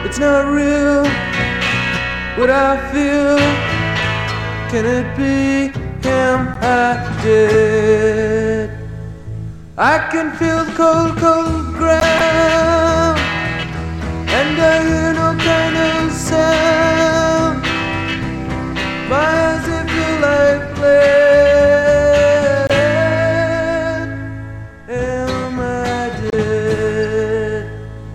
It's not real what I feel. Can it be him I did? I can feel the cold, cold ground, and I hear no kind of sound. My eyes they feel like lead. Am I dead?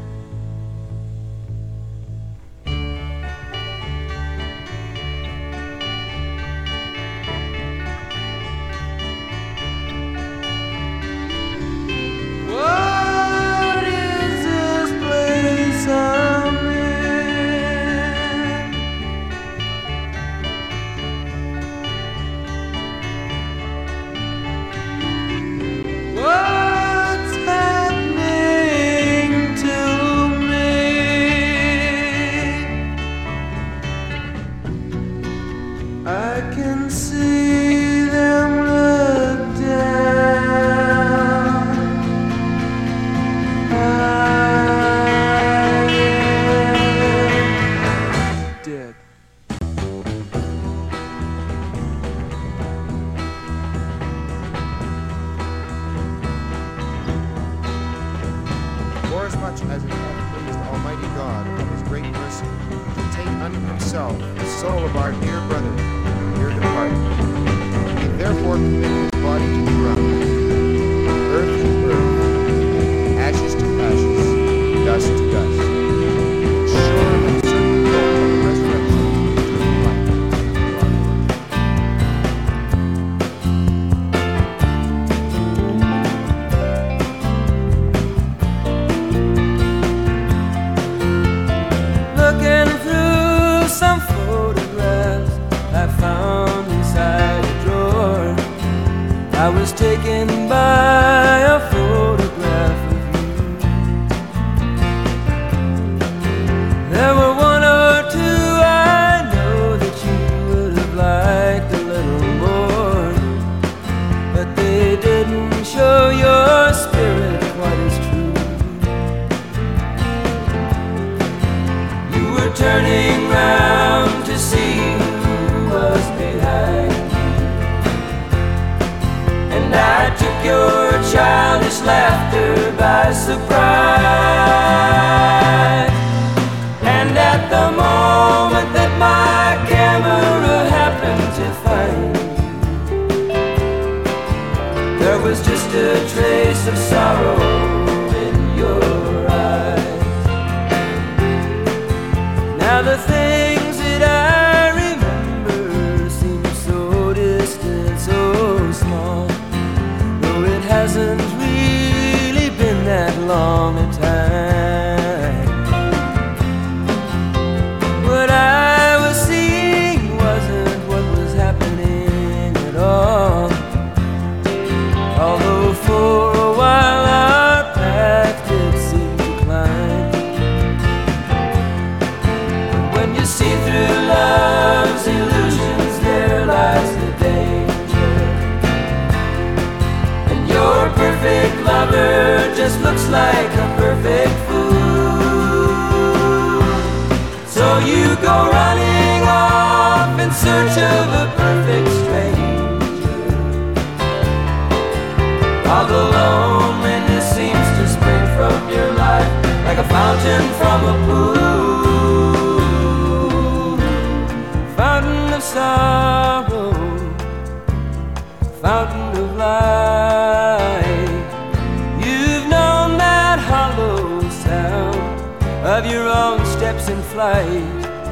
What is this place I'm in? What's happening to me? I can see them look down. I am dead. Forasmuch as it hath pleased Almighty God of his great mercy to take unto himself the soul of our dear brother, here departed, he therefore committed his body to the ground, earth to earth, ashes to ashes, dust to dust, sure and certain hope of the resurrection to life. Looking through some photographs I found inside a drawer, I was taken by a photograph of you. There were one or two I know that you would have liked a little more, but they didn't show your spirit quite as true. You were turning round to see who was behind you, and I took your childish laughter by surprise. And at the moment that my camera happened to find you, there was just a trace of sorrow in your eyes. Now the things that I remember seem so distant, so small, though it hasn't really been that long a time. What I was seeing wasn't what was happening at all, although for a while our path did seem to climb. When you see through love's illusions, there lies the danger, and your perfect lover just looks like a perfect fool. So you go running off in search of a perfect stranger, while the loneliness seems to spring from your life like a fountain from a pool. Fountain of sorrow, fountain of light. You've known that hollow sound of your own steps in flight.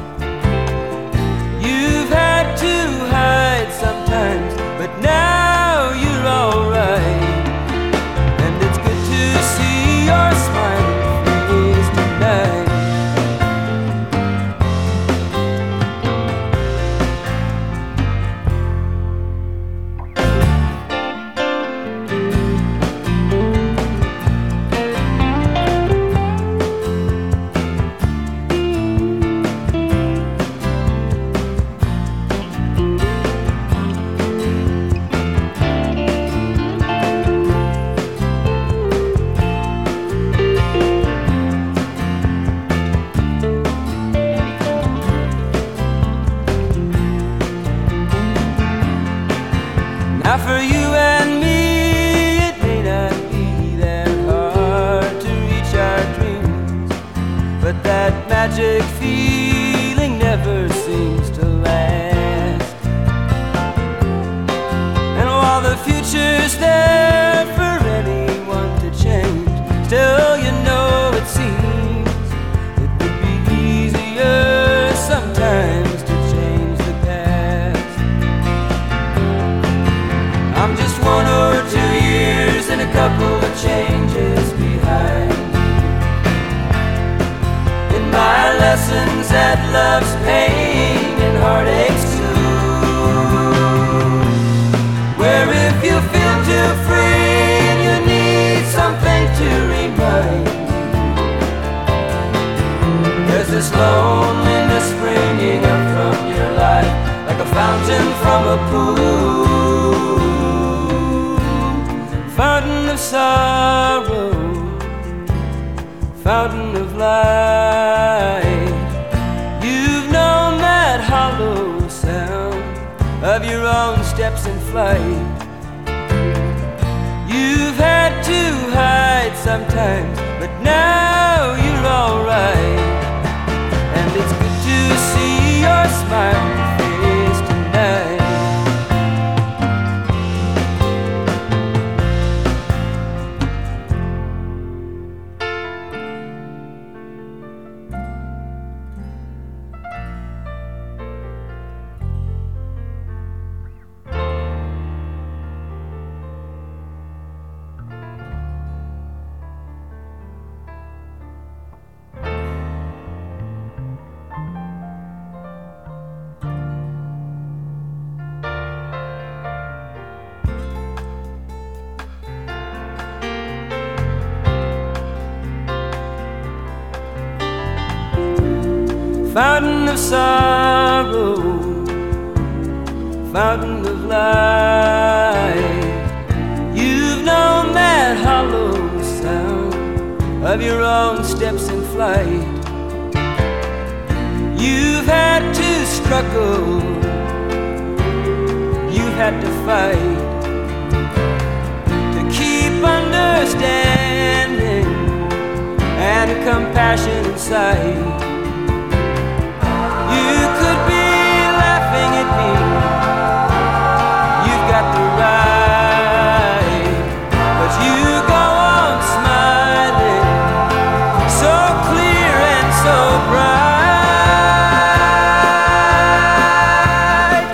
You've had to hide sometimes, but now you're alright. And it's good to see your smiling face tonight. Now for you and me, it may not be that hard to reach our dreams, but that magic feeling never seems to last. And while the future's there for anyone to change, still you know it seems it would be easier sometimes to change the past. I'm just 1 or 2 years and a couple of changes behind in my lessons at love's pain and heartaches too, where if you feel too free and you need something to remind you, there's this loneliness springing up from your life like a fountain from a pool, fountain of sorrow, fountain of light. You've known that hollow sound of your own steps in flight. You've had to hide sometimes, but now you're alright. And it's good to see your smiling face tonight. Fountain of sorrow, fountain of light. You've known that hollow sound of your own steps in flight. You've had to struggle, you've had to fight to keep understanding and compassion in sight. You could be laughing at me, you've got the right, but you go on smiling, so clear and so bright.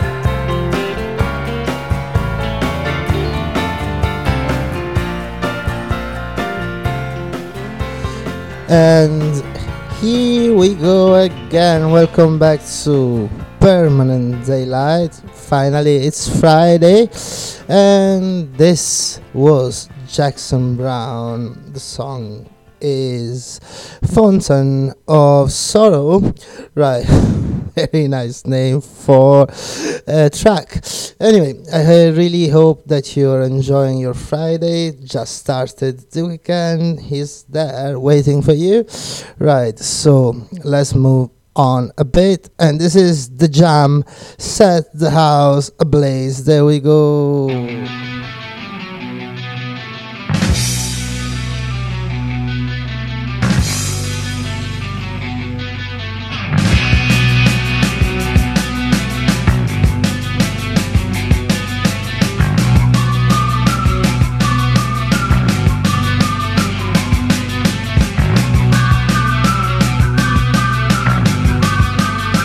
And here we go again. Welcome back to Permanent Daylight. Finally, it's Friday, and this was Jackson Browne. The song is Fountain of Sorrow. Right, very nice name for a track. Anyway, I really hope that you're enjoying your Friday. Just started the weekend. He's there waiting for you. Right, so let's move on a bit. And this is The Jam, Set the House Ablaze. There we go.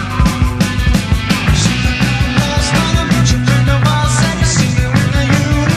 Last on the bunch of friend of ours, and you see you in the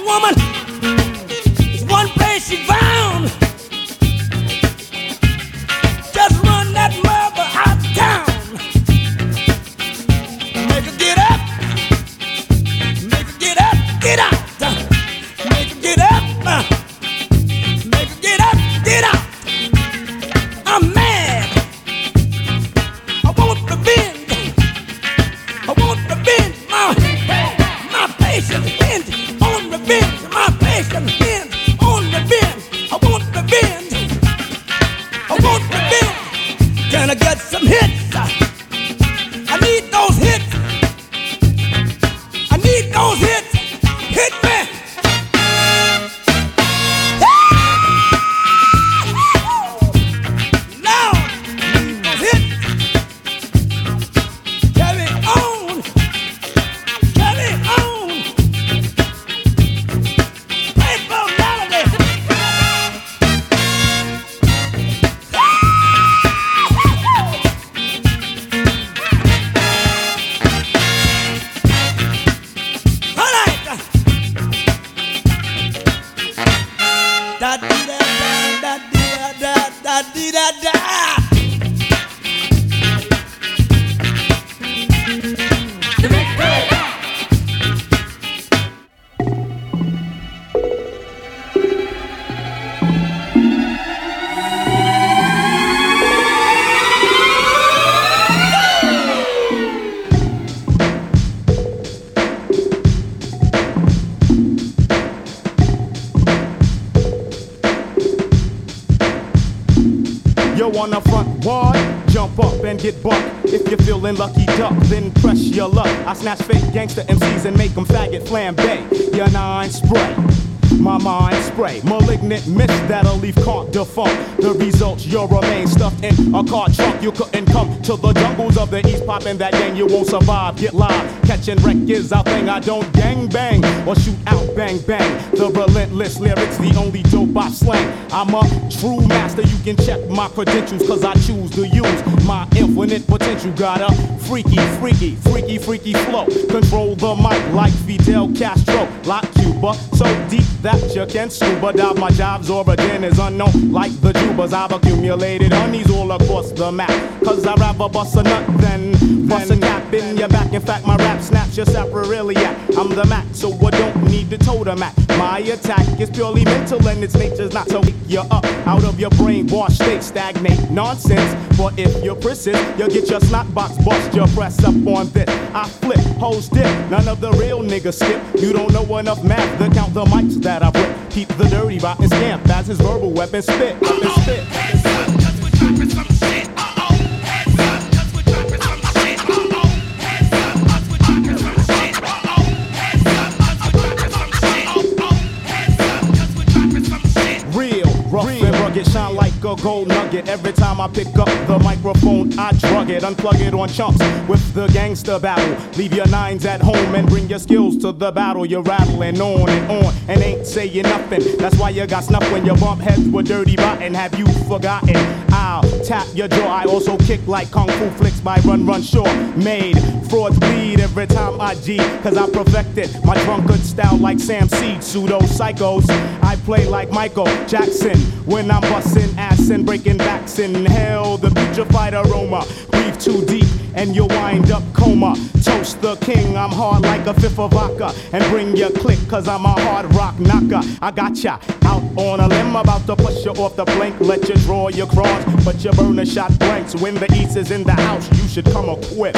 woman is one place she found. Just run that mother out of town. Make her get up. Make her get up, get out. Make her get up. Make her get up, get out. I'm mad. I want revenge. I want revenge. My patience hinge on revenge. My patience hinge on revenge. I want revenge. I want revenge. Can I get some hits? I need those hits. I need those hits. Hit me. Now, need those hits. Carry on. Carry on. Paper melody. All right. Da dee da da dee da da dee da da. Yo, on the front wall, jump up and get bucked. If you're feeling lucky duck, then press your luck. I snatch fake gangster MCs and make them faggot flambe. Your nine spray, my mind spray. Malignant mist that'll leave caught defunct. The results, you'll remain stuffed in a car trunk. You couldn't come to the jungles of the east, poppin' that gang, you won't survive. Get live, catching wreck is our thing. I don't gang bang or shoot out bang bang. The relentless lyrics, the only dope I slang. I'm a true master, you can check my credentials, cause I choose to use my infinite potential. Got a freaky flow. Control the mic like Fidel Castro, like Cuba. So deep that you can scuba dive. My job's origin is unknown, like the Jubas. I've accumulated honeys all across the map. Cause I'd rather bust a nut than bust a cap in your back. In fact, my rap snaps your sapriliac. I'm the Mac, so I don't need to totem at. My attack is purely mental and its nature's not to wake you up out of your brainwash state. Stagnate nonsense, but if you persist, you'll get your snot box bust. You press up on this, I flip, hoes dip. None of the real niggas skip. You don't know enough math to count the mics that I rip. Keep the dirty rotten scamp as his verbal weapon spit. Rough and rugged, shine like a gold nugget. Every time I pick up the microphone, I drug it, unplug it on chumps with the gangster battle. Leave your nines at home and bring your skills to the battle. You're rattling on and ain't saying nothing. That's why you got snuff when you bump heads with dirty rotten. Have you forgotten? I'll tap your jaw. I also kick like kung fu flicks by Run Shaw. Made frauds bleed every time I G, cause I perfected my drunkard style like Sam Seed. Pseudo psychos, I play like Michael Jackson when I'm busting ass and breaking backs. Inhale the putrefied aroma, breathe too deep and you'll wind up coma. Toast the king, I'm hard like a fifth of vodka, and bring your click cause I'm a hard rock knocker. I got ya out on a limb, about to push you off the plank. Let you draw your cross, but you burn a shot blanks. When the east is in the house, you should come equipped.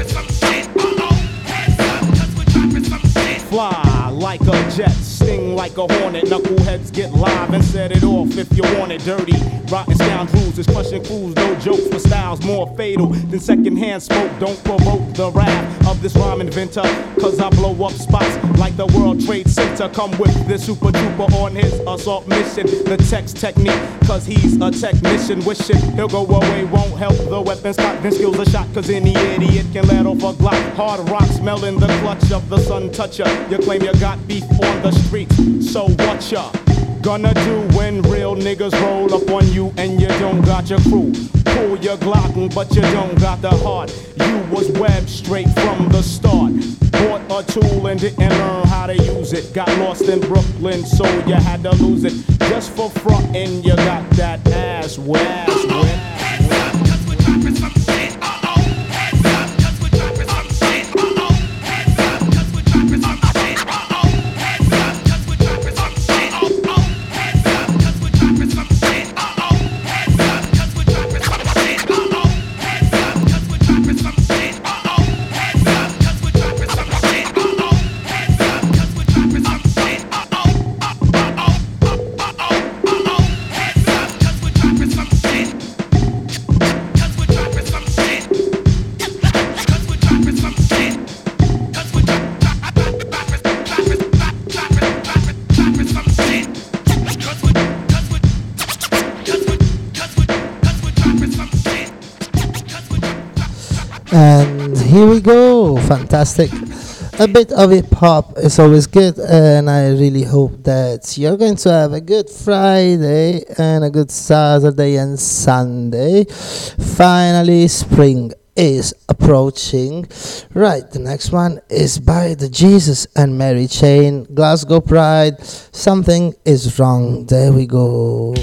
Fly like a jet, sting like like a hornet. Knuckleheads get live and set it off if you want it dirty. Rotten scoundrels is crushing crews, no jokes with styles more fatal than secondhand smoke. Don't provoke the wrath of this rhyme inventor, cause I blow up spots like the World Trade Center. Come with this super duper on his assault mission. The text technique, cause he's a technician. Wishing he'll go away, won't help the weapon spot. Then skills a shot, cause any idiot can let off a Glock. Hard rock smelling the clutch of the sun toucher. You claim you got beef on the streets, so what ya gonna do when real niggas roll up on you and you don't got your crew? Pull your Glock, but you don't got the heart. You was webbed straight from the start. Bought a tool and didn't learn how to use it. Got lost in Brooklyn, so you had to lose it. Just for frontin', you got that ass wet. And here we go, fantastic. A bit of hip hop is always good, and I really hope that you're going to have a good Friday and a good Saturday and Sunday. Finally, spring is approaching. Right, the next one is by the Jesus and Mary Chain, Glasgow Pride. Something is wrong. There we go.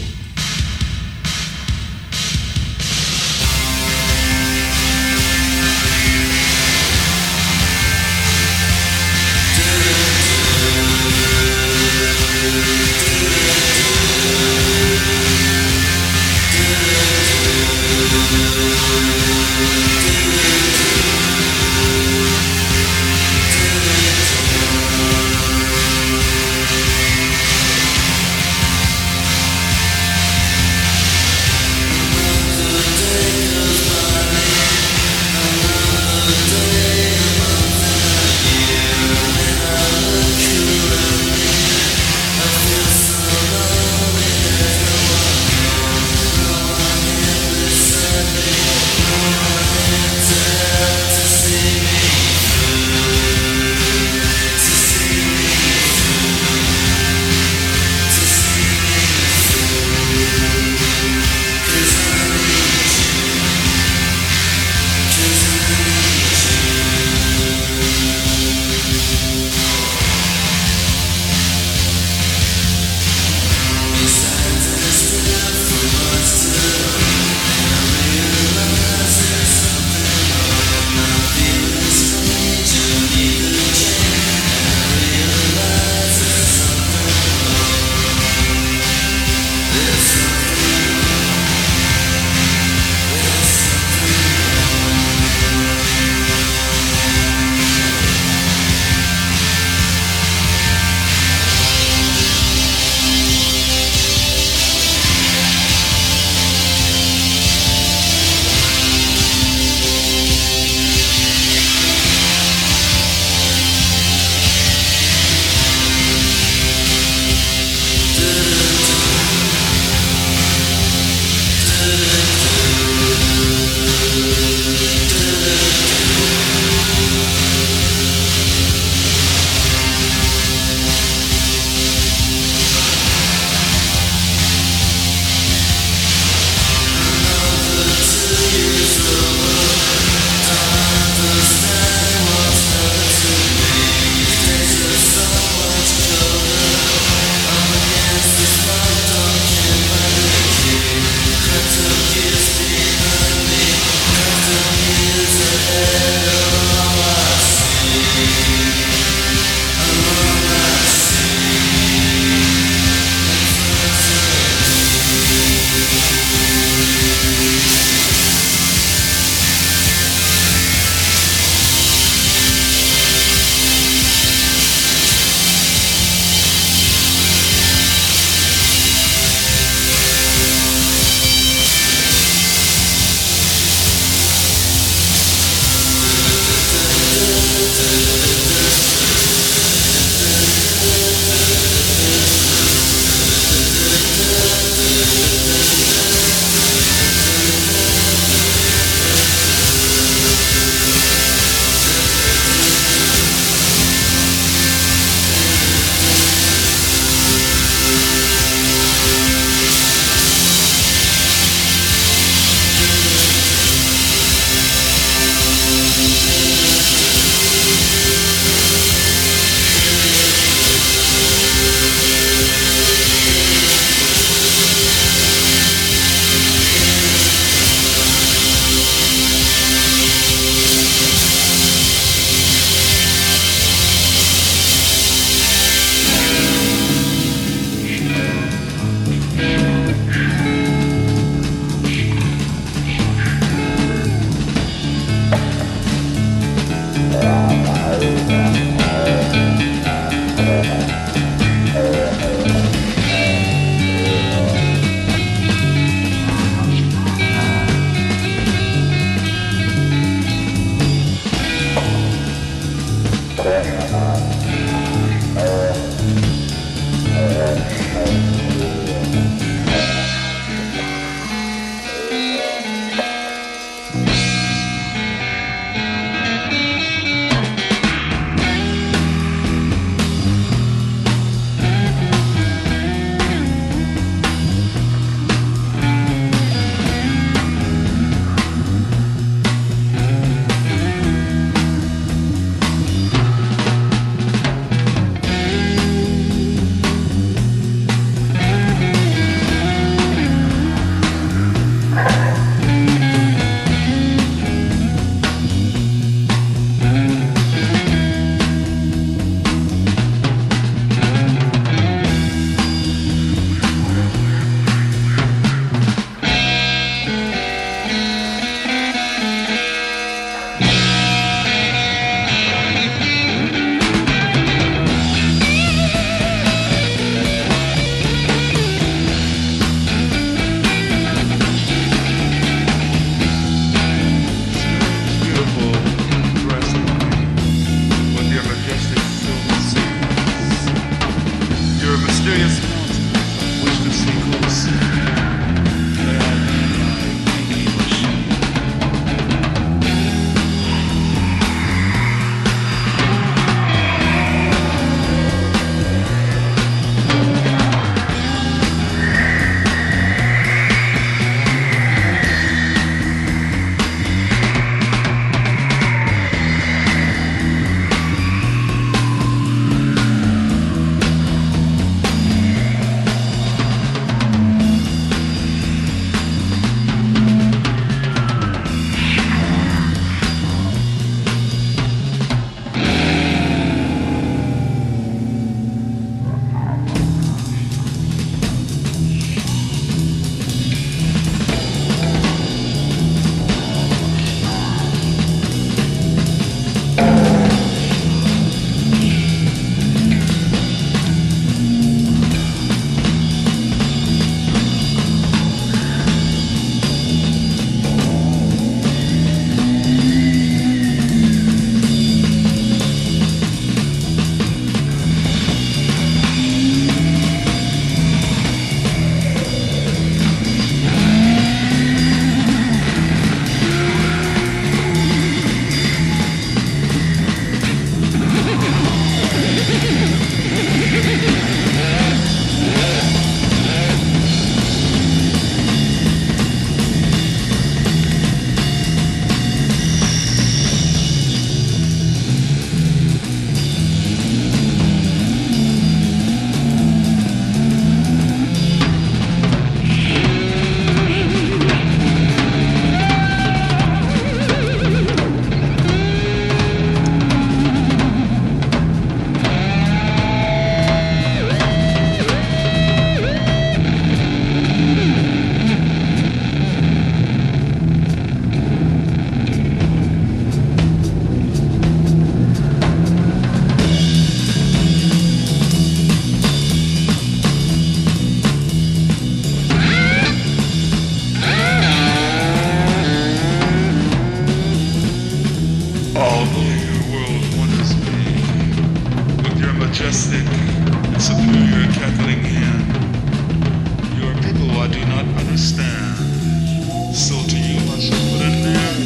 Although your world wonders me with your majestic and superior cackling hand, you are people I do not understand. So to you I shall put an end.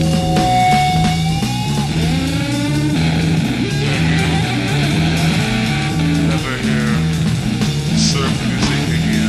Never hear surf music again.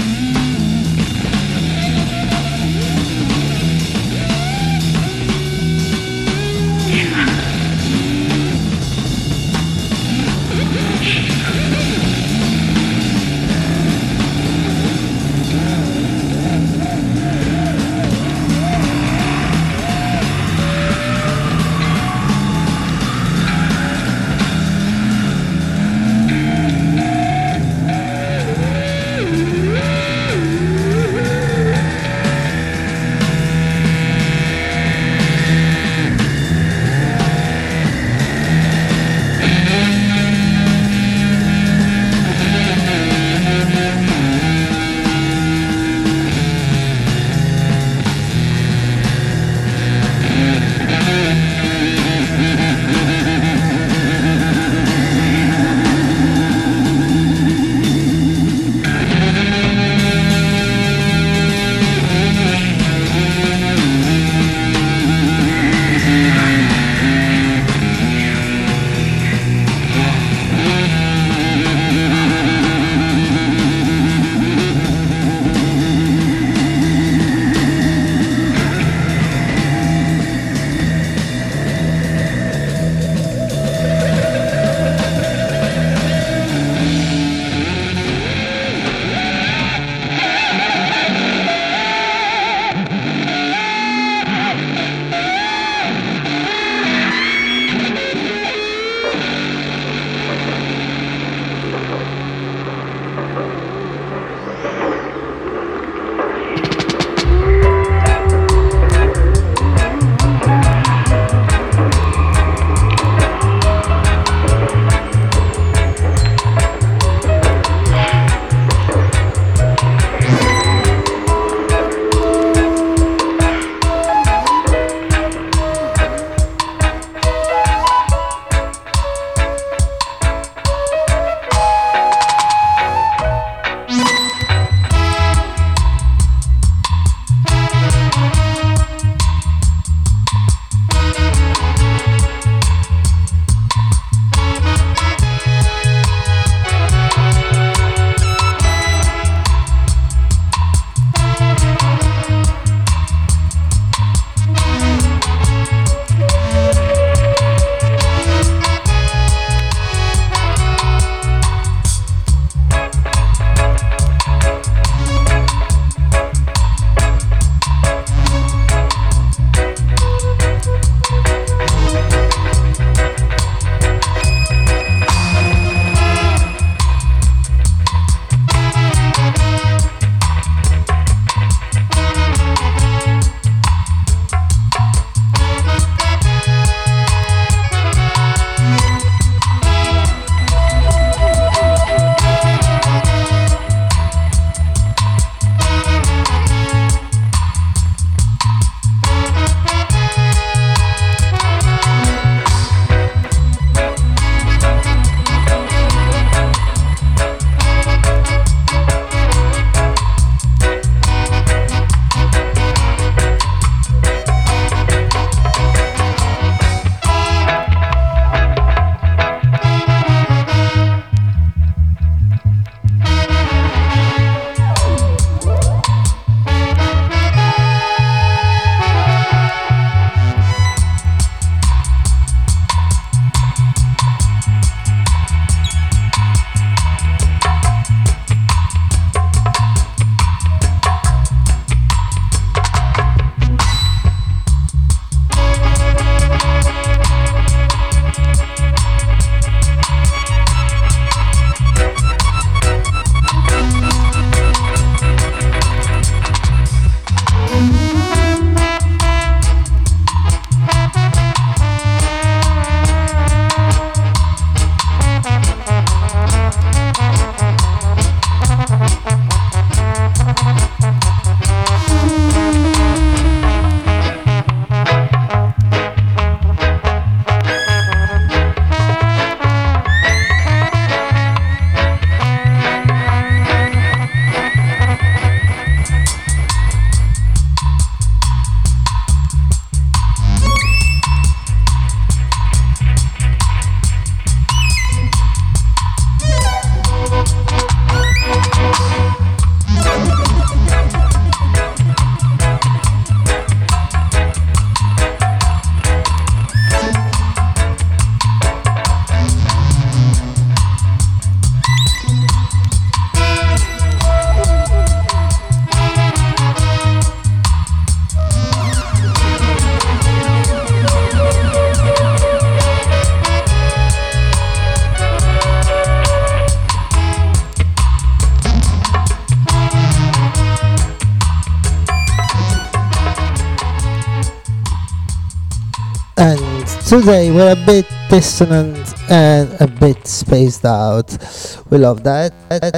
Today we're a bit dissonant and a bit spaced out. We love that.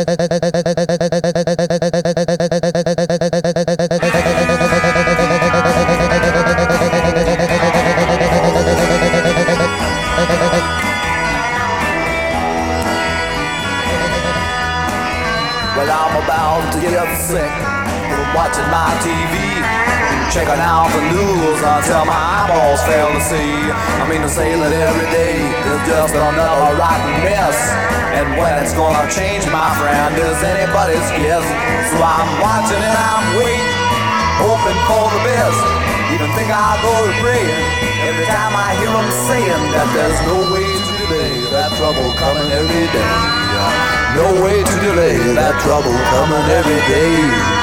Well, I'm about to get sick from watching my TV, checking out the news until my eyeballs fail to see. I mean to say that every day is just another rotten mess, and when it's gonna change, my friend, is anybody's guess. So I'm watching and I'm waiting, hoping for the best. Even think I'll go to praying every time I hear them saying that there's no way to delay that trouble coming every day. No way to delay that trouble coming every day.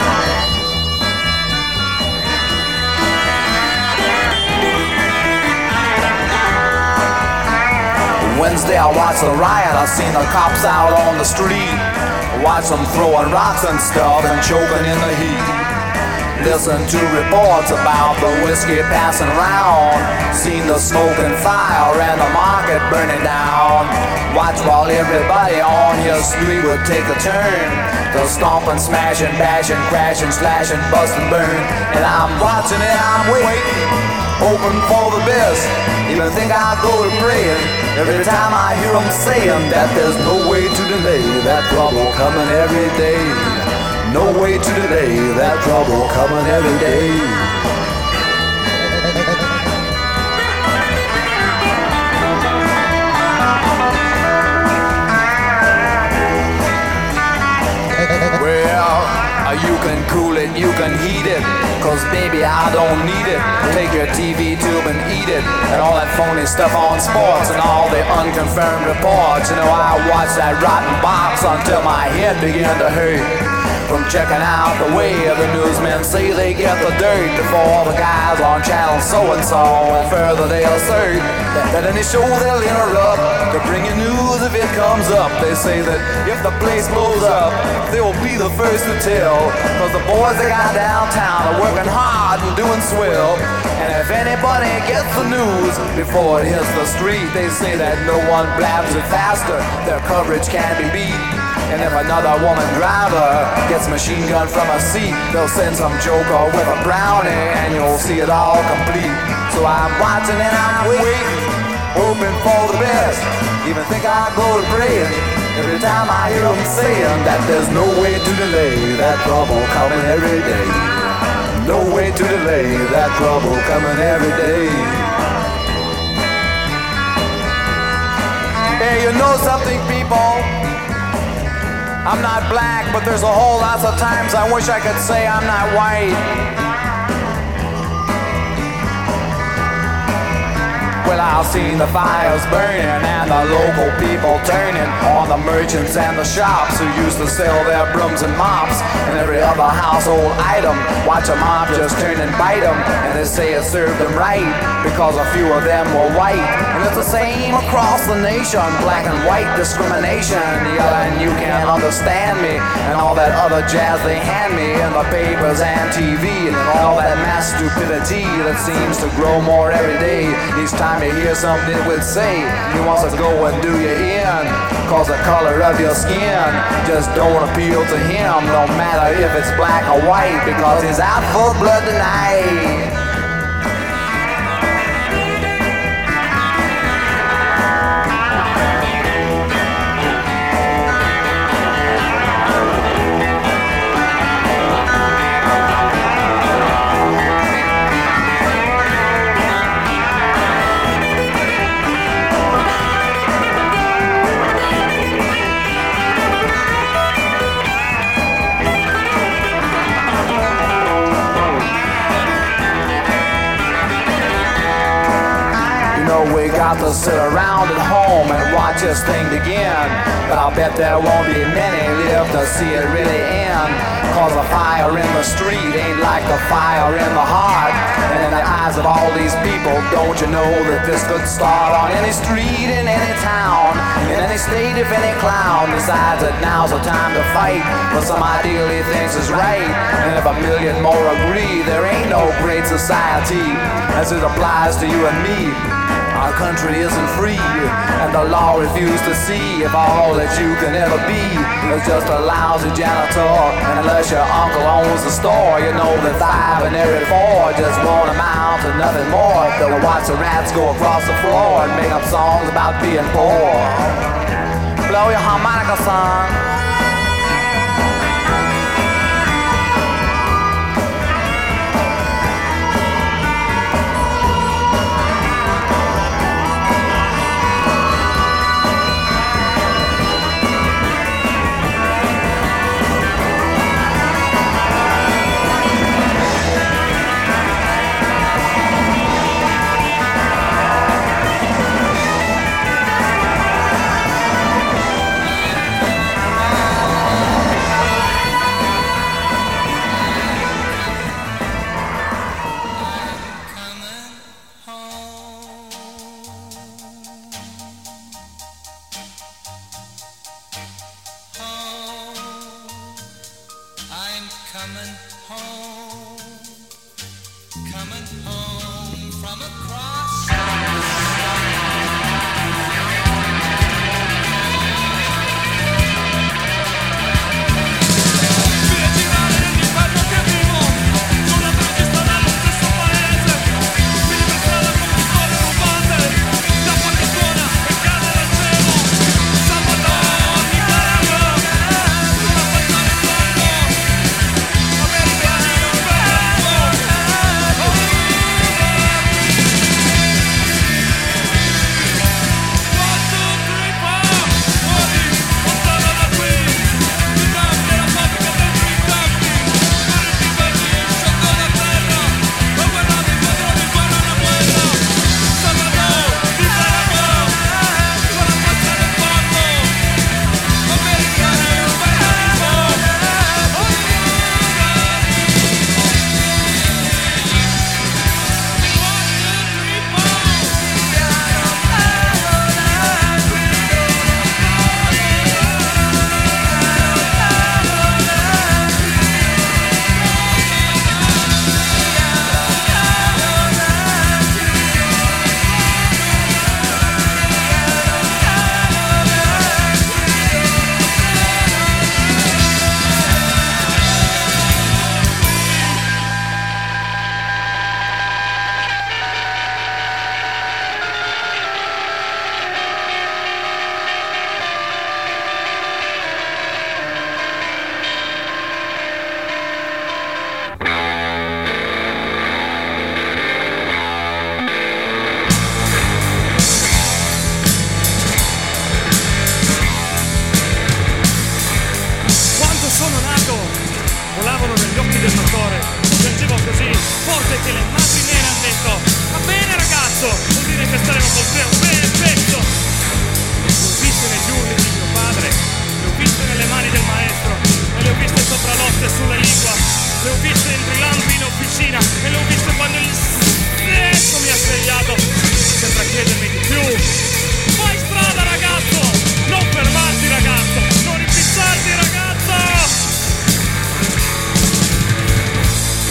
Wednesday I watched the riot, I seen the cops out on the street. Watched them throwing rocks and stuff and choking in the heat. Listen to reports about the whiskey passing around. Seen the smoke and fire and the market burning down. Watch while everybody on your street would take a turn. They'll stomp and smash and bash and crash and slash and bust and burn. And I'm watching and I'm waiting, hoping for the best. Even think I'll go to praying every time I hear them saying that there's no way to delay that trouble coming every day. No way to delay that trouble coming every day. Well, you can cool it, you can heat it, cause baby I don't need it. Take your TV tube and eat it, and all that phony stuff on sports and all the unconfirmed reports. You know, I watched that rotten box until my head began to hurt. From checking out the way the newsmen say they get the dirt before the guys on channel so-and-so, and further they assert that any show they'll interrupt to bring you news if it comes up. They say that if the place blows up, they will be the first to tell, cause the boys they got downtown are working hard and doing swell. And if anybody gets the news before it hits the street, they say that no one blabs it faster, their coverage can't be beat. And if another woman driver gets machine gun from a seat, they'll send some joker with a brownie and you'll see it all complete. So I'm watching and I'm waiting, hoping for the best. Even think I'll go to praying every time I hear them saying that there's no way to delay that trouble coming every day. No way to delay that trouble coming every day. Hey, you know something, people? I'm not black, but there's a whole lot of times I wish I could say I'm not white. Well, I've seen the fires burning and the local people turning on the merchants and the shops who used to sell their brooms and mops and every other household item. Watch a mob just turn and bite them, and they say it served them right because a few of them were white. And it's the same across the nation, black and white discrimination. Yelling, you can't understand me, and all that other jazz they hand me in the papers and TV, and all that mass stupidity that seems to grow more every day. Each time you hear something it would say, he wants to go and do you in, cause the color of your skin just don't appeal to him, no matter if it's black or white, because he's out for blood tonight. We got to sit around at home and watch this thing begin, but I'll bet there won't be many live to see it really end, cause the fire in the street ain't like the fire in the heart. And in the eyes of all these people, don't you know that this could start on any street in any town, in any state if any clown decides that now's the time to fight for some ideal he thinks is right. And if a million more agree, there ain't no great society as it applies to you and me. Our country isn't free, and the law refuses to see if all that you can ever be is just a lousy janitor. And unless your uncle owns the store, you know that 5 in every 4 just won't amount to nothing more. They'll watch the rats go across the floor and make up songs about being poor. Blow your harmonica, son.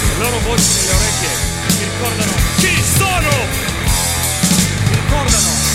voci nelle orecchie mi ricordano chi sono, mi ricordano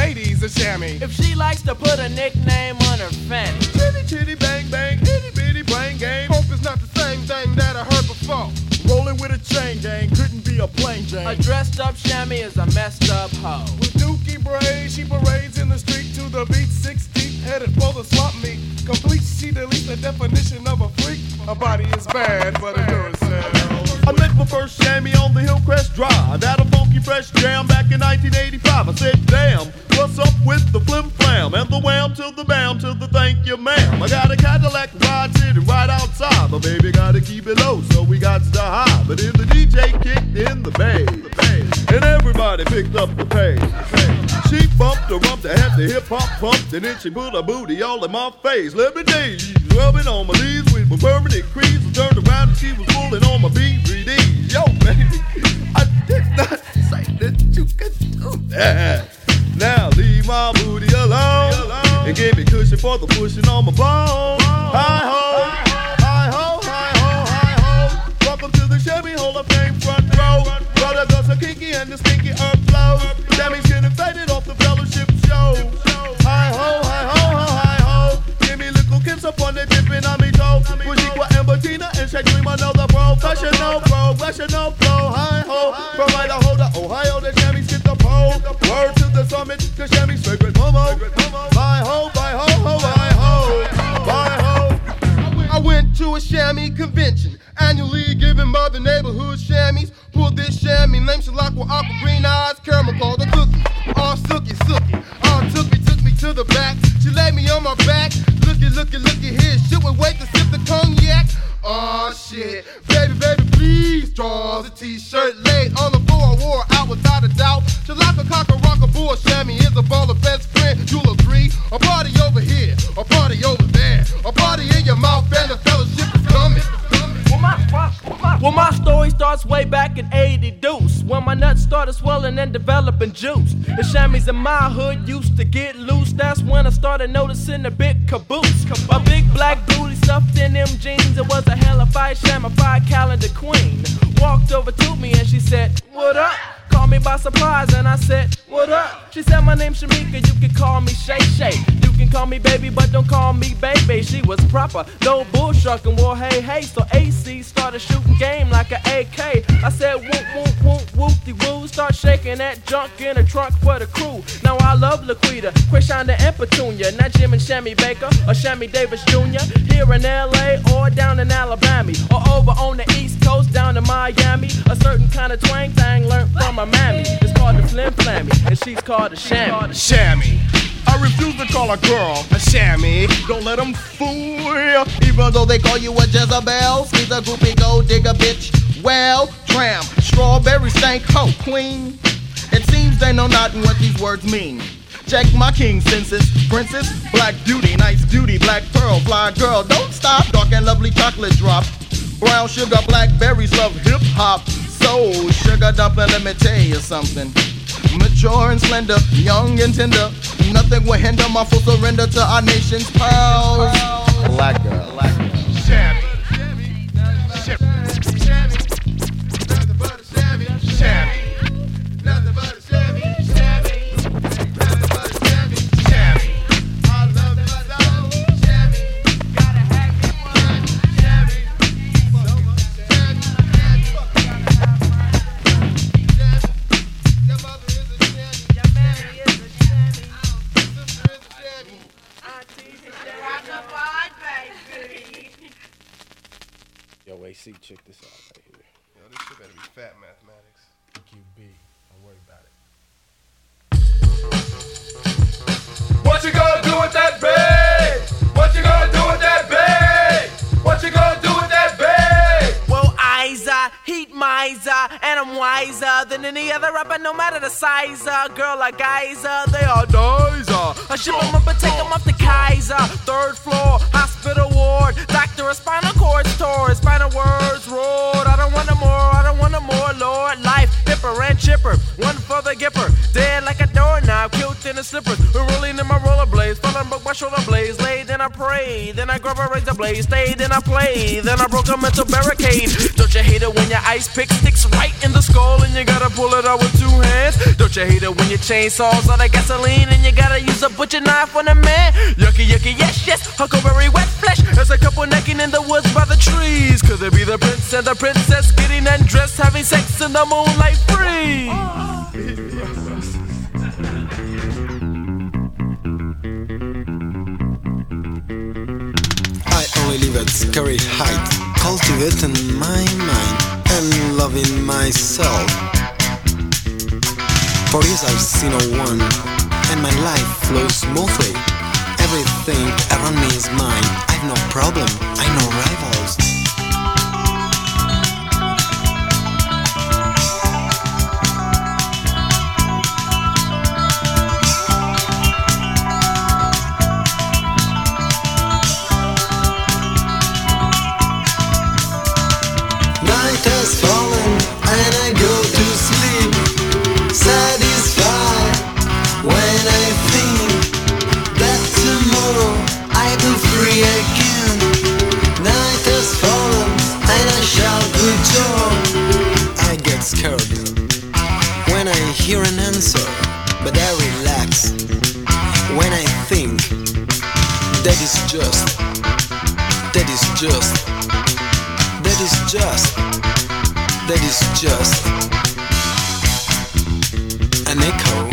ladies a chamois. If she likes to put a nickname on her fence. Chitty chitty bang bang, itty bitty brain game. Hope it's not the same thing that I heard before. Rolling with a chain gang, couldn't be a plain Jane. A dressed up chamois is a messed up hoe. With dookie braids, she parades in the street to the beat 6 deep, headed for the swap meet. Complete, she deletes the definition of a freak. Her body is bad, but it does sell. I met my first chamois on the Hillcrest Drive. Had a funky fresh jam back in 1985. I said, damn, what's up with the flim flam? And the wham to the bam to the thank you ma'am. I got a Cadillac ride sitting right outside. My baby gotta keep it low, so we got to high. But then the DJ kicked in the bass, and everybody picked up the pace. She bumped her rump to have the hip hop pumped, and then she put her booty all in my face. Let me tell you, rubbing on my knees with my permanent crease. I turned around and she was pulling on my BVDs. Yo, baby, I did not say that you could do that. Now leave my booty alone and give me cushion for the pushing on my bone. Hi ho, hi ho, hi ho, hi ho. Welcome to the Chevy Hall of Fame front row. Brother does a kinky and the stinky herb flow. Sammy's getting faded off the fellowship show. Hi ho, hi ho, hi ho. Give me little kiss up on the tipping on me toe. Bujiqua and Bettina and Shaq Dream, another professional flow. Hi ho, from Idaho to Ohio, the Sammy's get the pole. Word to the summit, the Sammy's favorite momo. Hi ho, hi ho, ho, hi ho, hi ho. I went to a chamois convention, annually giving by the neighborhood chamois. Pulled this chamois, named Shalakwa, aqua green eyes, caramel called a cookie. All sookie. Took me to the back. She laid me on my back. Looky here. Shit would wait to sip the cognac. Oh shit, baby, please draw the t-shirt laid on the floor. I wore out without a doubt. Shalaka cocker rocker bull chamois is a baller best friend. You'll agree. A party over here, a party over there, a party in your mouth, and the fellowship is coming. Well, my story starts way back in 80 deuce, when my nuts started swelling and developing juice. The chamois in my hood used to get loose. That's when I started noticing a big caboose. A big black booty stuffed in them jeans. It was a hellified chamois calendar queen. Walked over to me and she said, what up? Caught me by surprise and I said, what up? She said, my name's Shamika, you can call me Shay Shay. You can call me baby, but don't call me baby. She was proper, no bullshuck and wore hey. So AC started shooting game like an AK. I said, whoop-de-woo. Start shaking that junk in the trunk for the crew. Now I love Laquita, Quishonda and Petunia. Not Jim and Shammy Baker or Shammy Davis Jr. Here in LA or down in Alabama. Or over on the East Coast down in Miami. A certain kind of twang tang learned from my mammy. It's called the Flim Flammy and she's called the Chamois. Chamois. I refuse to call a girl a chamois. Don't let them fool you. Even though they call you a Jezebel, she's a groupie gold digger bitch. Well, tram, strawberry stank hoe queen. It seems they know not what these words mean. Check my king census, princess, black beauty, nice beauty, black pearl, fly girl. Don't stop, dark and lovely chocolate drop. Brown sugar, blackberries love hip hop. Soul sugar dumpling, let me tell you something. Mature and slender, young and tender. Nothing will hinder my full surrender to our nation's pearls. Black girl. Chamois. Yo, AC, check this out right here. Yo, this shit better be fat mathematics. QB, don't worry about it. What you gonna do with that bag? What you gonna do with that bag? What you gonna do with that bag? Well, Iza, heat miser, and I'm wiser than any other rapper, no matter the size. Girl like Iza, they all dizer. I ship them up and take them off the Kaiser. 3rd floor, hospital ward, doctor of spinal cord store, spinal words roared. I don't want no more, Lord. Life, hipper and chipper, one for the gipper. Dead like a doorknob, cute in the slippers. We're rolling in my rollerblades, falling broke my shoulder blades. Laid in a I pray. Then I grab a razor blade, stayed and I played. Then I broke a mental barricade. Don't you hate it when your ice pick sticks right in the skull and you gotta pull it out with two hands? Don't you hate it when your chainsaws out of gasoline and you gotta use a butcher knife on a man? Yucky, yucky, yes, yes, huckleberry wet flesh. There's a couple necking in the woods by the trees. Could there be the prince and the princess getting undressed, having sex in the moonlight free? I only live at scary height, cultivating my mind and loving myself. For years I've seen no one, and my life flows smoothly. Everything around me is mine. I've no problem, I no rivals. Night has fallen and I go to sleep, satisfied when I think that tomorrow I'll be free again. Night has fallen and I shout with joy. I get scared when I hear an answer, but I relax when I think that is just, that is just, that is just, that is just an echo.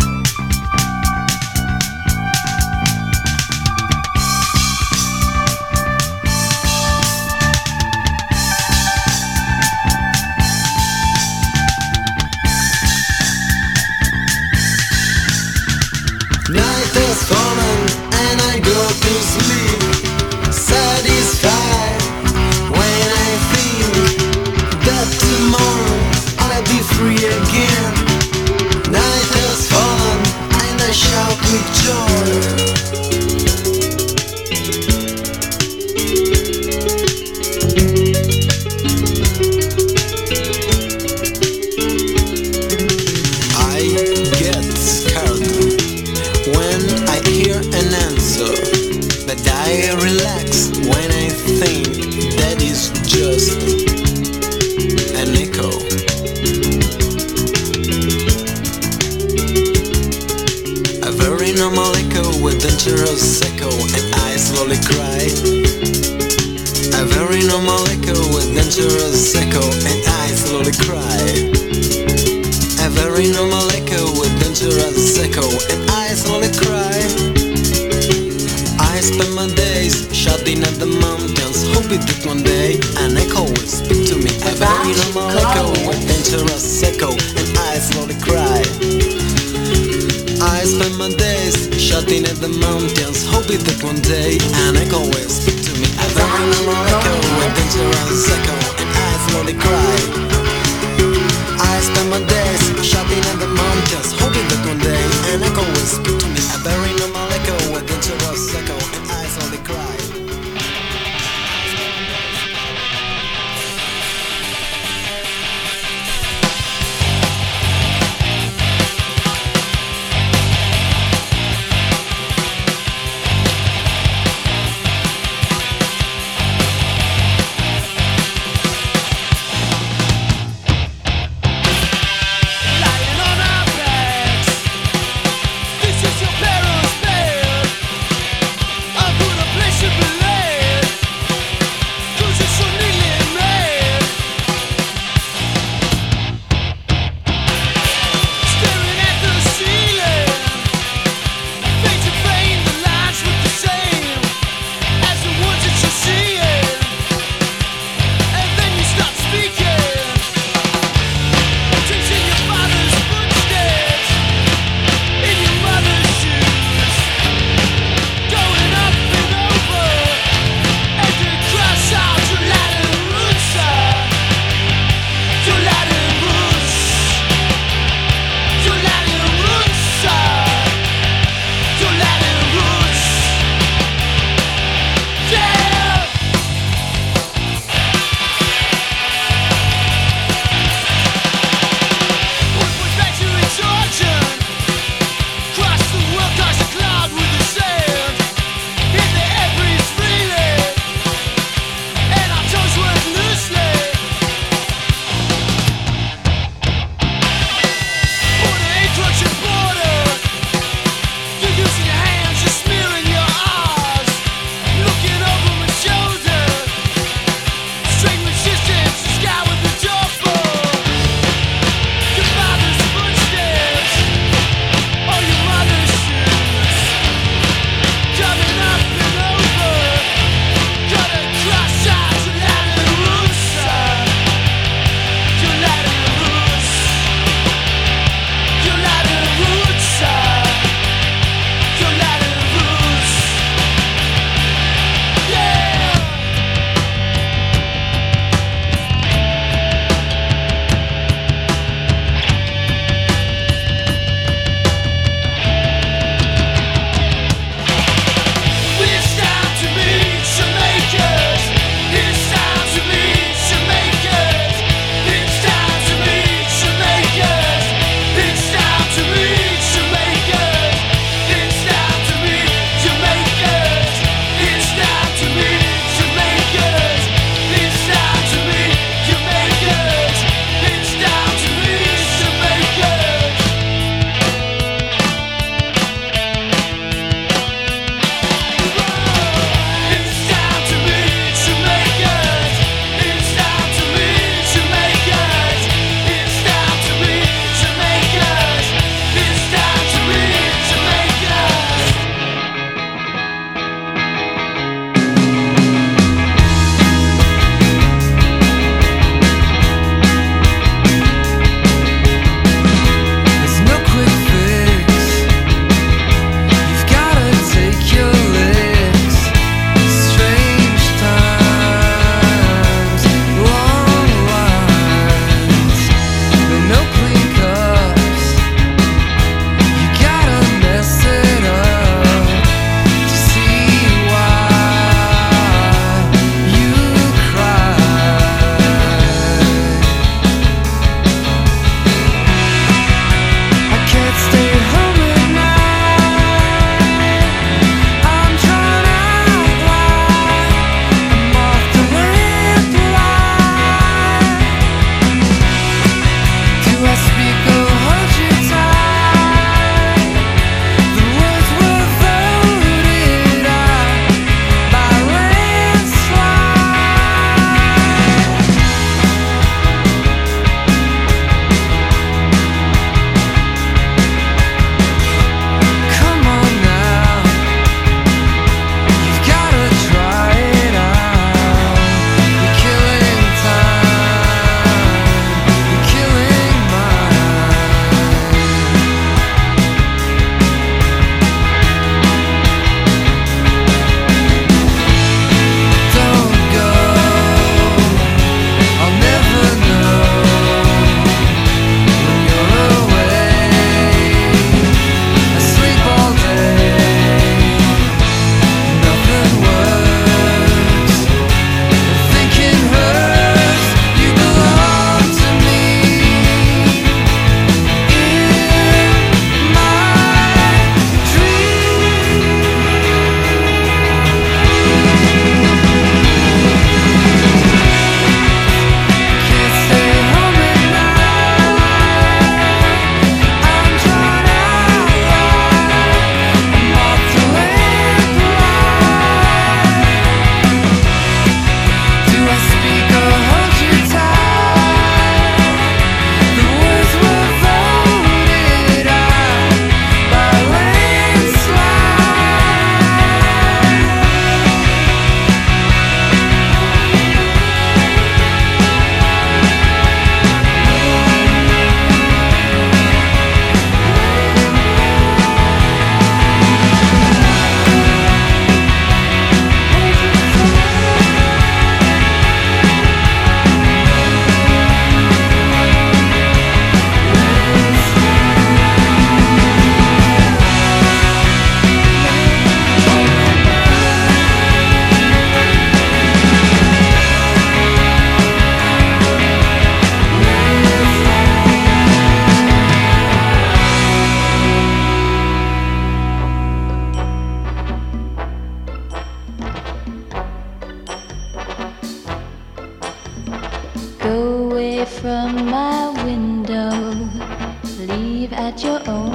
Night has fallen and I go to sleep, satisfied when I think that tomorrow I'll be free again. Night has fallen and I shout with joy. I get scared when I hear an answer, but I relax when I think that is just an echo. A very normal echo with dangerous echo, and I slowly cry. A very normal echo with dangerous echo, and I slowly cry. A very normal echo with dangerous echo, and I slowly cry. I spend my days shouting at the mountains, hoping that one day an echo will speak to me. A very normal echo with dangerous echo, and I slowly cry. I spend my days shouting at the mountains, hoping that one day an echo will speak to me. A very normal echo with dangerous echo, and I slowly cry. I spend my days shouting at the mountains, hoping that one day an echo will speak to me. A very normal echo with dangerous echo, and I slowly cry. Lying on a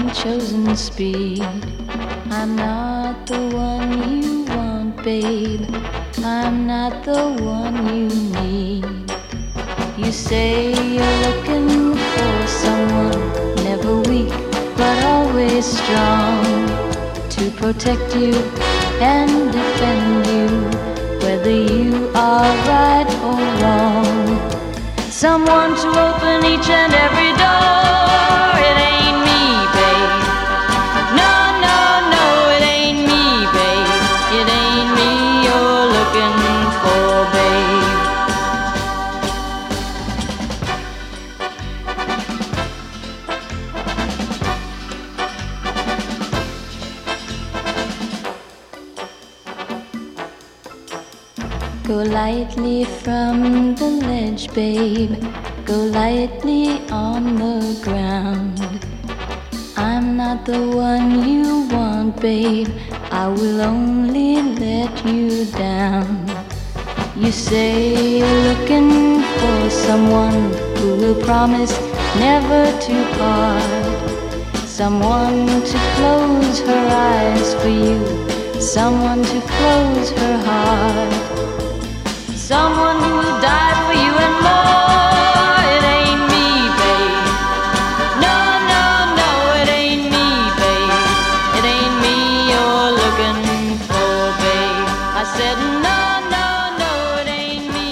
ain't chosen speed. I'm not the one you want, babe. I'm not the one you need. You say you're looking for someone, never weak, but always strong, to protect you and defend you, whether you are right or wrong. Someone to open each and every door. It ain't me, babe. No, no, no, it ain't me, babe. It ain't me you're looking for, babe. Go lightly from the ledge, babe. Go lightly on the ground. I'm not the one you want, babe. I will only let you down. You say you're looking for someone who will promise never to part, someone to close her eyes for you, someone to close her heart, someone who will die for you and more. It ain't me, babe. No, no, no, it ain't me, babe. It ain't me you're looking for, babe. I said no, no, no, it ain't me,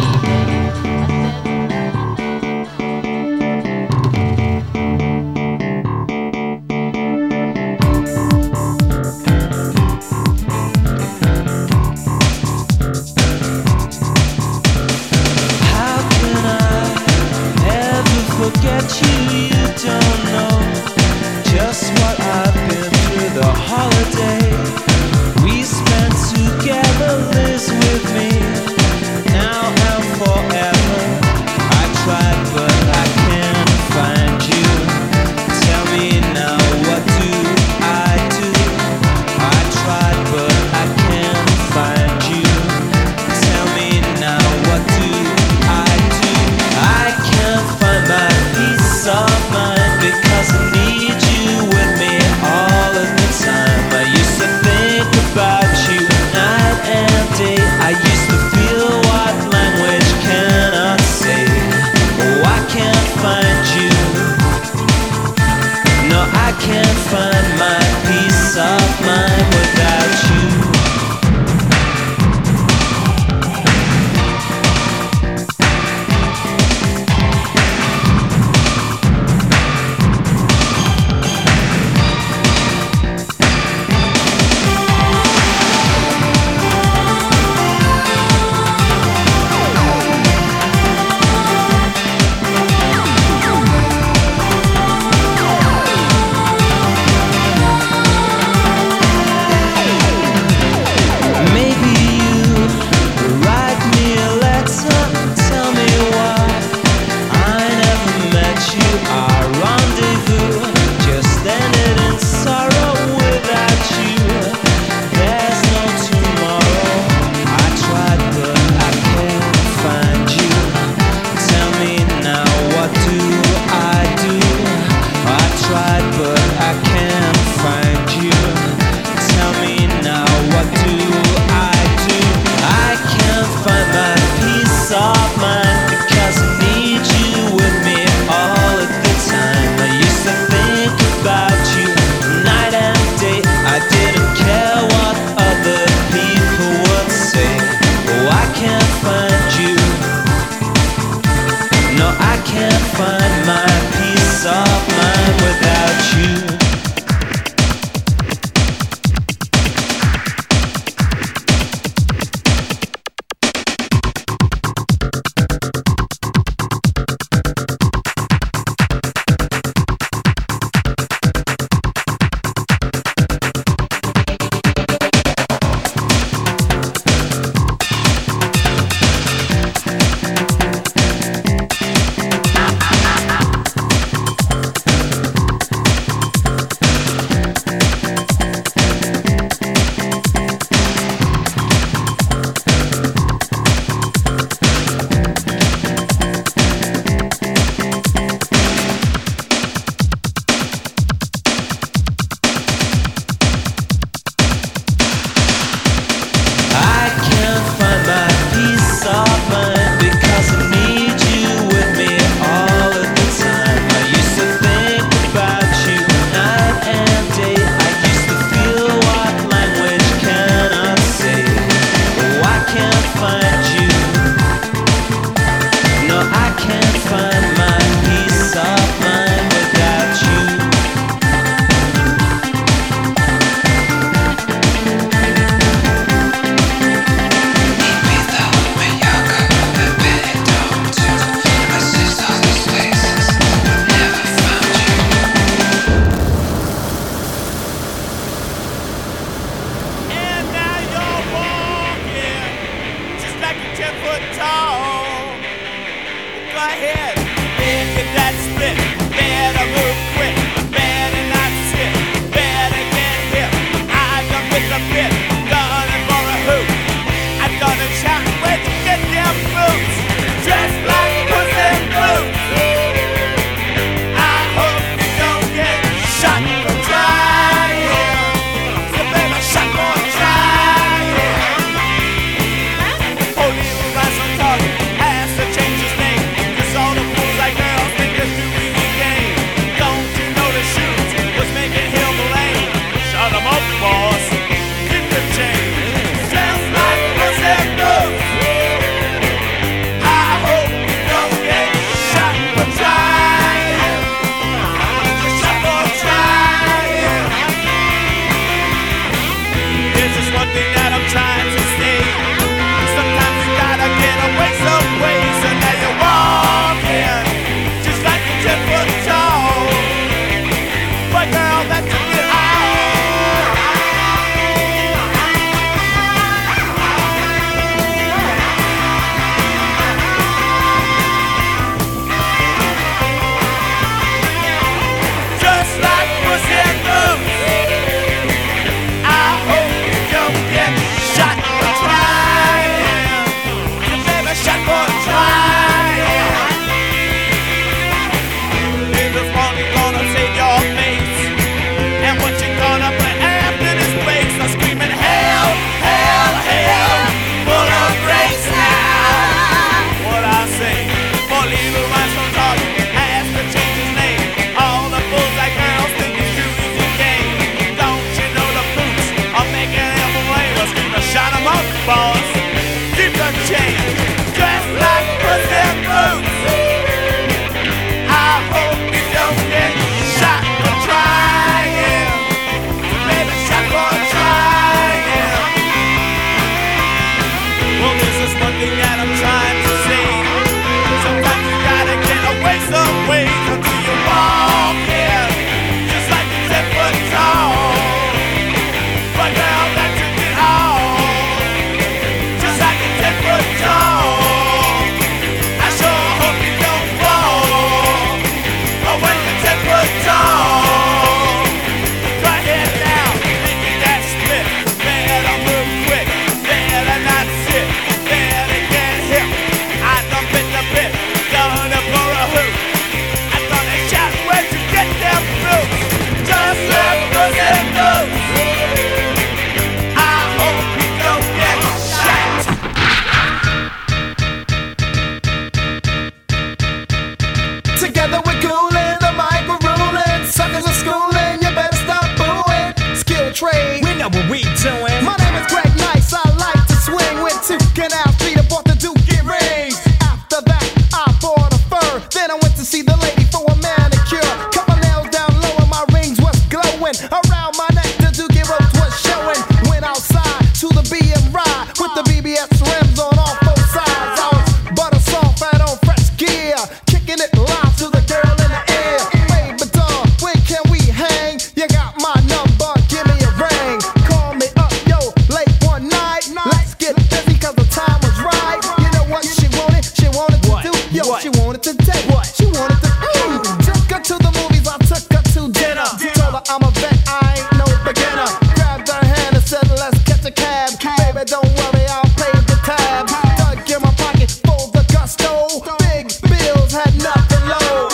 forget you, you don't know just what I've been through the holiday we spent together lives with me now and forever. I tried but I can't find you. Tell me now, what do I do? I tried but I can't find you. Tell me now, what do I do? I can't find my peace of mind because I need you with me all of the time. I used to think about you night and day. I used to feel what language cannot say. Oh, I can't find you. No, I can't find my peace of mind without you. said I ain't no beginner. Grabbed her hand and said let's catch a cab. Baby, don't worry, I'll pay the tab. Dug in my pocket full the gusto. Big bills had nothing low.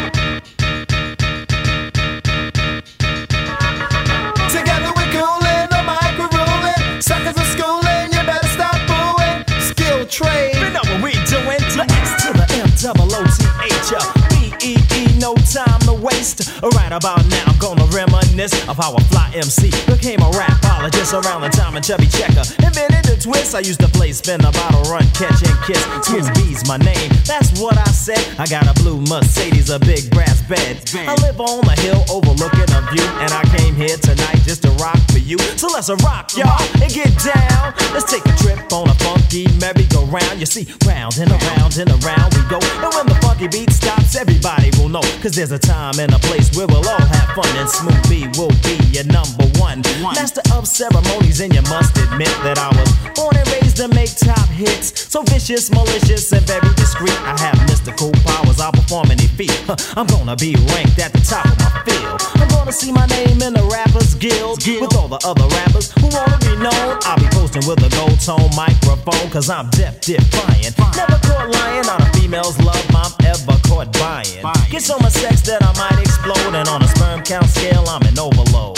Together we're coolin', the mic we're rollin'. Suckers are schooling, you better stop booing. Skill trade. You know what we doing? The X to the M-double-O-T-H, B-E-E, no time to waste. Right about now, I'm gonna reminisce of how a fly MC became a rapologist around the time of Chubby Checker invented the twist. I used to play spin a bottle, run, catch and kiss. Smooth B's my name, that's what I said. I got a blue Mercedes, a big brass bed. I live on a hill overlooking a view, and I came here tonight just to rock for you. So let's rock, y'all, and get down. Let's take a trip on a funky merry-go-round. You see, round and around we go. And when the funky beat stops, everybody will know. Cause there's a time and a place where we'll all have fun. And Smooth B will be your number one. Master of ceremonies, and you must admit that I was born and raised to make top hits. So vicious, malicious, and very discreet. I have mystical powers, I'll perform any feat. I'm gonna be ranked at the top of my field. I'm gonna see my name in the Rappers Guild with all the other rappers who wanna be known. I'll be posting with a gold tone microphone, cause I'm deaf, defiant. Never caught lying on a female's love I'm ever caught buying. Get so much sex that I might explode, and on a sperm count scale I'm an overload.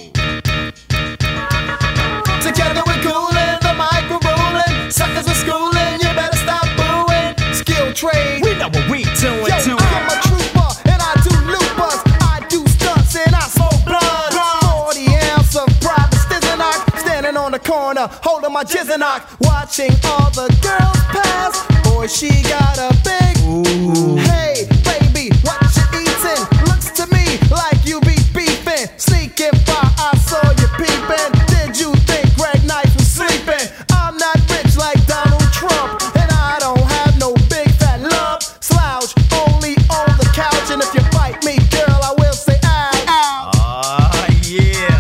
Together we're coolin', the mic we're rollin'. Suckers are schooling, you better stop booing. Skill trade. We know what we doing. Yo, I'm a trooper and I do loopers. I do stunts and I smoke blood. 40 ounce of private Stizinock, standing on the corner holding my Jizzinock, watching all the girls pass. Boy, she got a big. Ooh. Hey, baby, what you eatin'? Looks to me like you be beefin'. Sneaking by, I saw you peepin'. Did you think Greg Knight was sleeping? I'm not rich like Donald Trump, and I don't have no big fat lump. Slouch only on the couch, and if you bite me, girl, I will say ouch. Yeah.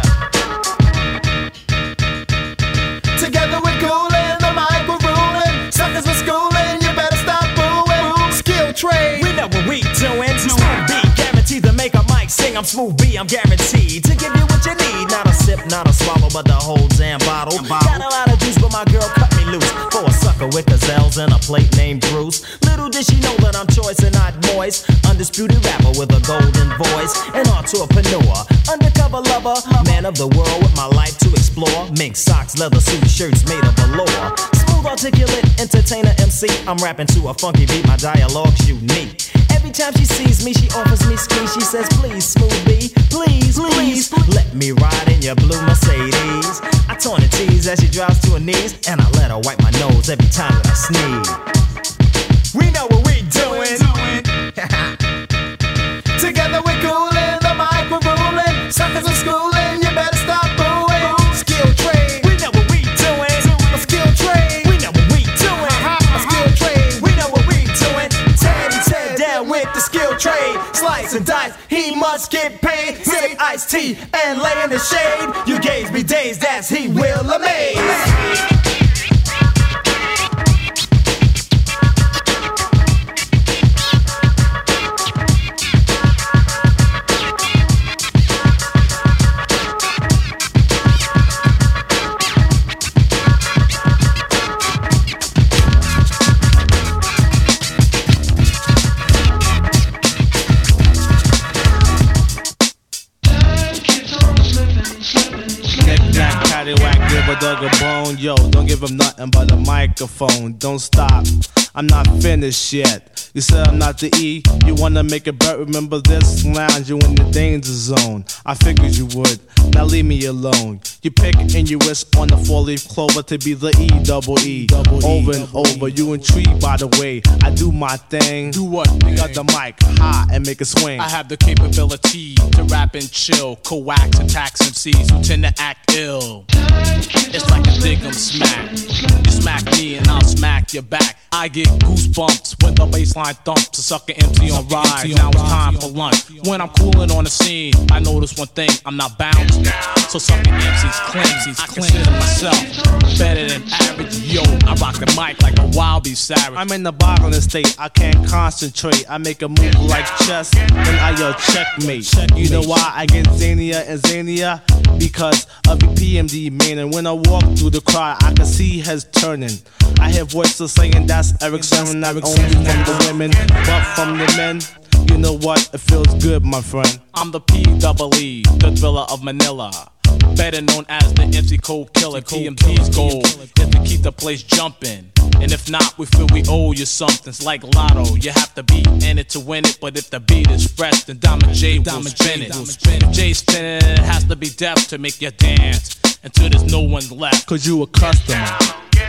Together we're coolin', the mic we're ruling. Suckers are schooling, you better stop booing. Skill trade. We know what we doing. Smooth B, guaranteed to make a mic sing. I'm Smooth B, I'm guaranteed to give you what you need. Not a sip, not a swallow, but the whole damn bottle. Got a lot of juice, but my girl cut me loose for a sucker with gazelles and a plate named Bruce. Little did she know that I'm choice and not moist. Undisputed rapper with a golden voice. An entrepreneur, undercover lover, man of the world with my life to explore. Mink socks, leather suit, shirts made of velour. Smooth, articulate, entertainer, MC. I'm rapping to a funky beat, my dialogue's unique. Every time she sees me, she offers me skis. She says, please, Smooth B, please, let me ride in your blue Mercedes. I torn and tease as she drops to her knees, and I let her wipe my nose every time that I sneeze. We know what we doing. Together we're coolin', the mic we're ruling. Suckers are schooling, you better stop booing. Skill trade. We know what we doing. A skill trade. We know what we doing. A skill trade. We know what we doing. Tear down with the skill trade. Slice and dice, he must get paid. Sip iced tea and lay in the shade. You gauge me days, that's he will amaze. Give a dog a bone, yo, don't give him nothing but a microphone. Don't stop, I'm not finished yet. You said I'm not the E, you wanna make it better. Remember this lounge, you in the danger zone. I figured you would, now leave me alone. You pick and you wish on the 4-leaf clover to be the E-double-E. Over and over, you intrigued by the way I do my thing. Do what? You got the mic high and make it swing. I have the capability to rap and chill, coax attacks MCs who tend to act ill. It's like a dig 'em smack. You smack me and I'll smack your back. I get goosebumps when the bassline thumps. A sucker MC on ride. Now it's time for lunch. When I'm cooling on the scene, I notice one thing: I'm not bounced. So sucker MCs claim I consider myself better than average. Yo, I rock the mic like a wild beast savage. I'm in the boggling state, I can't concentrate. I make a move like chess, then I yell checkmate. You know why I get zanier and zanier? Because of the PMD, man. And when I walk through the crowd, I can see heads turning. I hear voices saying that's Eric Sermon, not only from the women, but from the men. You know what? It feels good, my friend. I'm the P-double-E, the thriller of Manila. Better known as the MC Cold Killer. PMD's goal is to keep the place jumping. And if not, we feel we owe you something. It's like Lotto, you have to be in it to win it. But if the beat is fresh, then Diamond J will spin it. If J's spinning it, it has to be deaf to make you dance until there's no one left. Cause you a customer.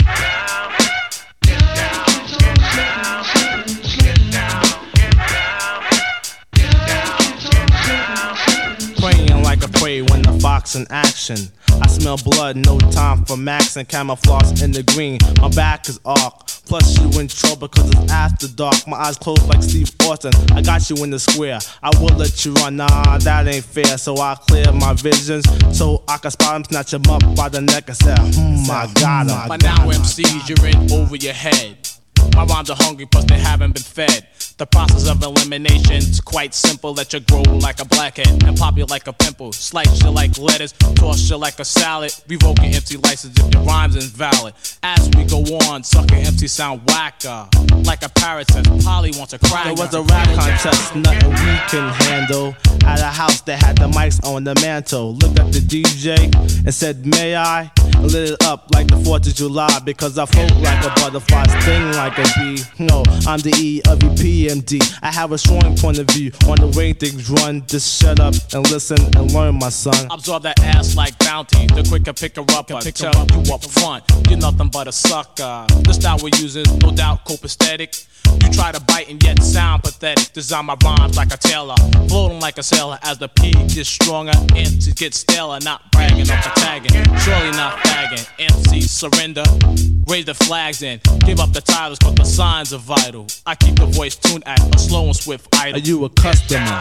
Praying like a prey when the fox in action. I smell blood, no time for max and camouflage in the green. My back is arc, plus you in trouble cause it's after dark. My eyes closed like Steve Austin, I got you in the square. I will let you run, nah, that ain't fair. So I clear my visions, so I can spot him, snatch him up by the neck and say, I got him. By now MCs, you're in over your head. My rhymes are hungry, plus they haven't been fed. The process of elimination's quite simple. Let you grow like a blackhead and pop you like a pimple. Slice you like lettuce, toss you like a salad. Revoke your MC license if your rhyme's invalid. As we go on, sucker MC sound whacker. Like a parrot says, Polly wants a cracker. There was a rap contest, nothing we can handle. At a house that had the mics on the mantle. Looked at the DJ and said, may I? And lit it up like the 4th of July. Because I float like a butterfly, sting like a bee. No, I'm the E of the PMD. I have a strong point of view on the way things run. Just shut up and listen and learn, my son. Absorb that ass like bounty. The quicker pick her up, I tell you up front. You're nothing but a sucker. The style we use is no doubt copacetic. You try to bite and yet sound pathetic. Design my rhymes like a tailor, floating like a sailor. As the P gets stronger, MCs get staler. Not bragging or tagging, surely not fagging. MCs surrender, raise the flags and give up the titles, cause the signs are vital. I keep the voice tuned at a slow and swift idle. Are you a customer?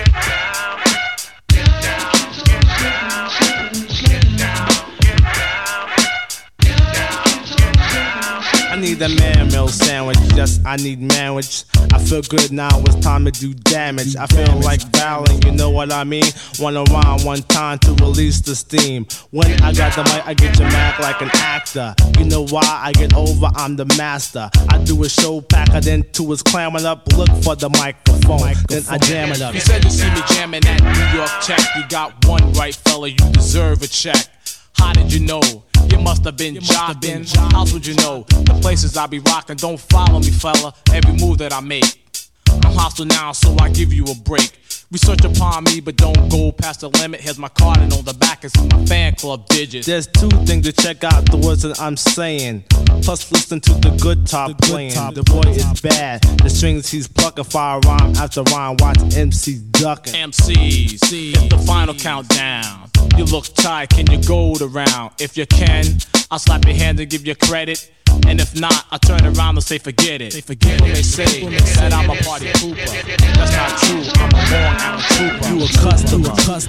I need a man meal sandwich, yes, I need manwich. I feel good now, it's time to do damage. I feel like Valen, you know what I mean? Wanna rhyme one time to release the steam. When I got the mic, I get you mad like an actor. You know why I get over, I'm the master. I do a show packer, then to his clamming up. Look for the microphone, then I jam it up. You said you see me jamming that New York check. You got one right, fella, you deserve a check. How did you know? You must have been jogging. How would you know? The places I be rocking. Don't follow me, fella. Every move that I make. I'm hostile now, so I give you a break. Research upon me, but don't go past the limit. Here's my card, and on the back is my fan club digits. There's 2 things to check out the words that I'm saying. Plus, listen to the good top playing. The boy is bad. The strings he's plucking, fire rhyme after rhyme. Watch MC ducking. MCs, it's the final countdown. You look tight, can you go the round? If you can, I'll slap your hand and give you credit. And if not, I turn around and say forget it. They say that I'm a party pooper. That's not true, I'm a born amateur. You a customer.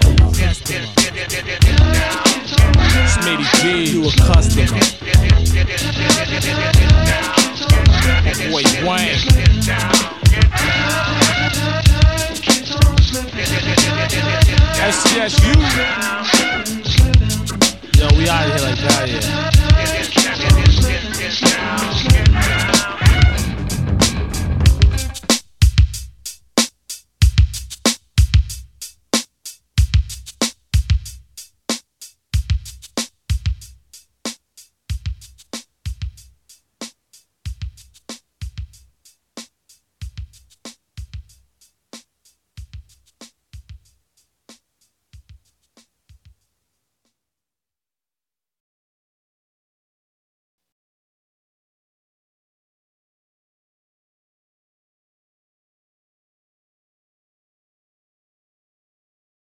Smitty G, you a customer. Boy Wayne. SCSU. Yo, we out of here like that, yeah.